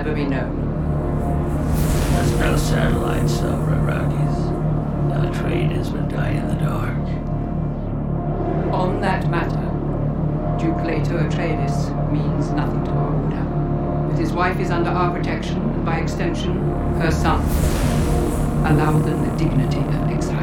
never be known. There's no satellites over Iraqis. Our traders would die in the dark. On that matter, Duke Leto Atreides means nothing to our order. But his wife is under our protection, and by extension, her son. Allow them the dignity of exile.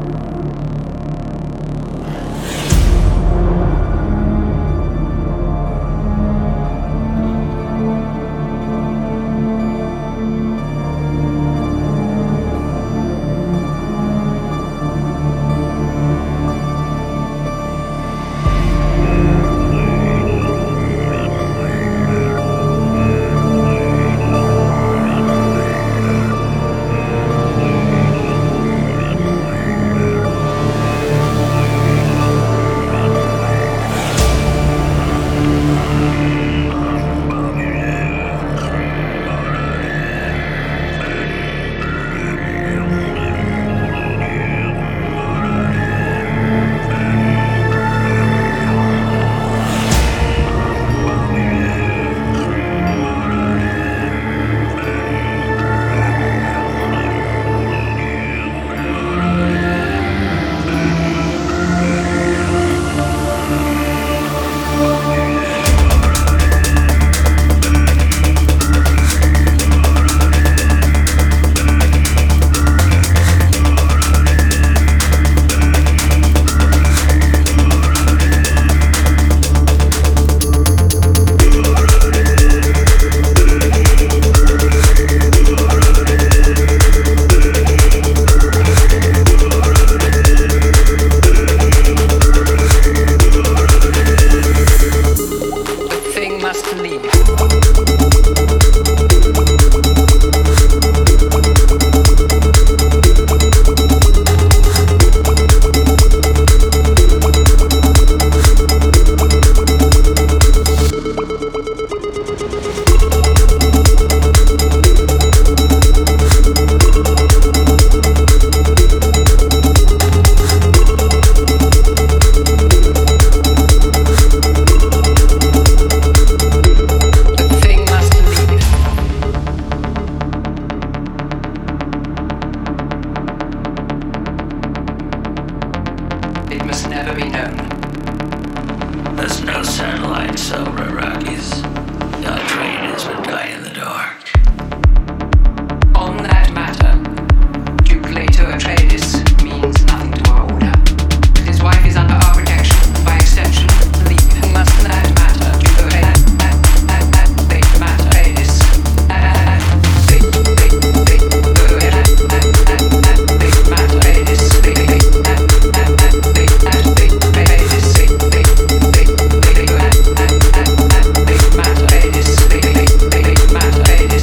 There's no satellites over Iraqis. Our traders would die in the dark. On that matter, Duke Leto Atreides means nothing to our order. But his wife is under our protection, by extension, leave him must that matter. Duke Atreides. Matter.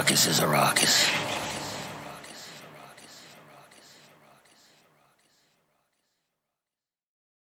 Arrakis is Arrakis.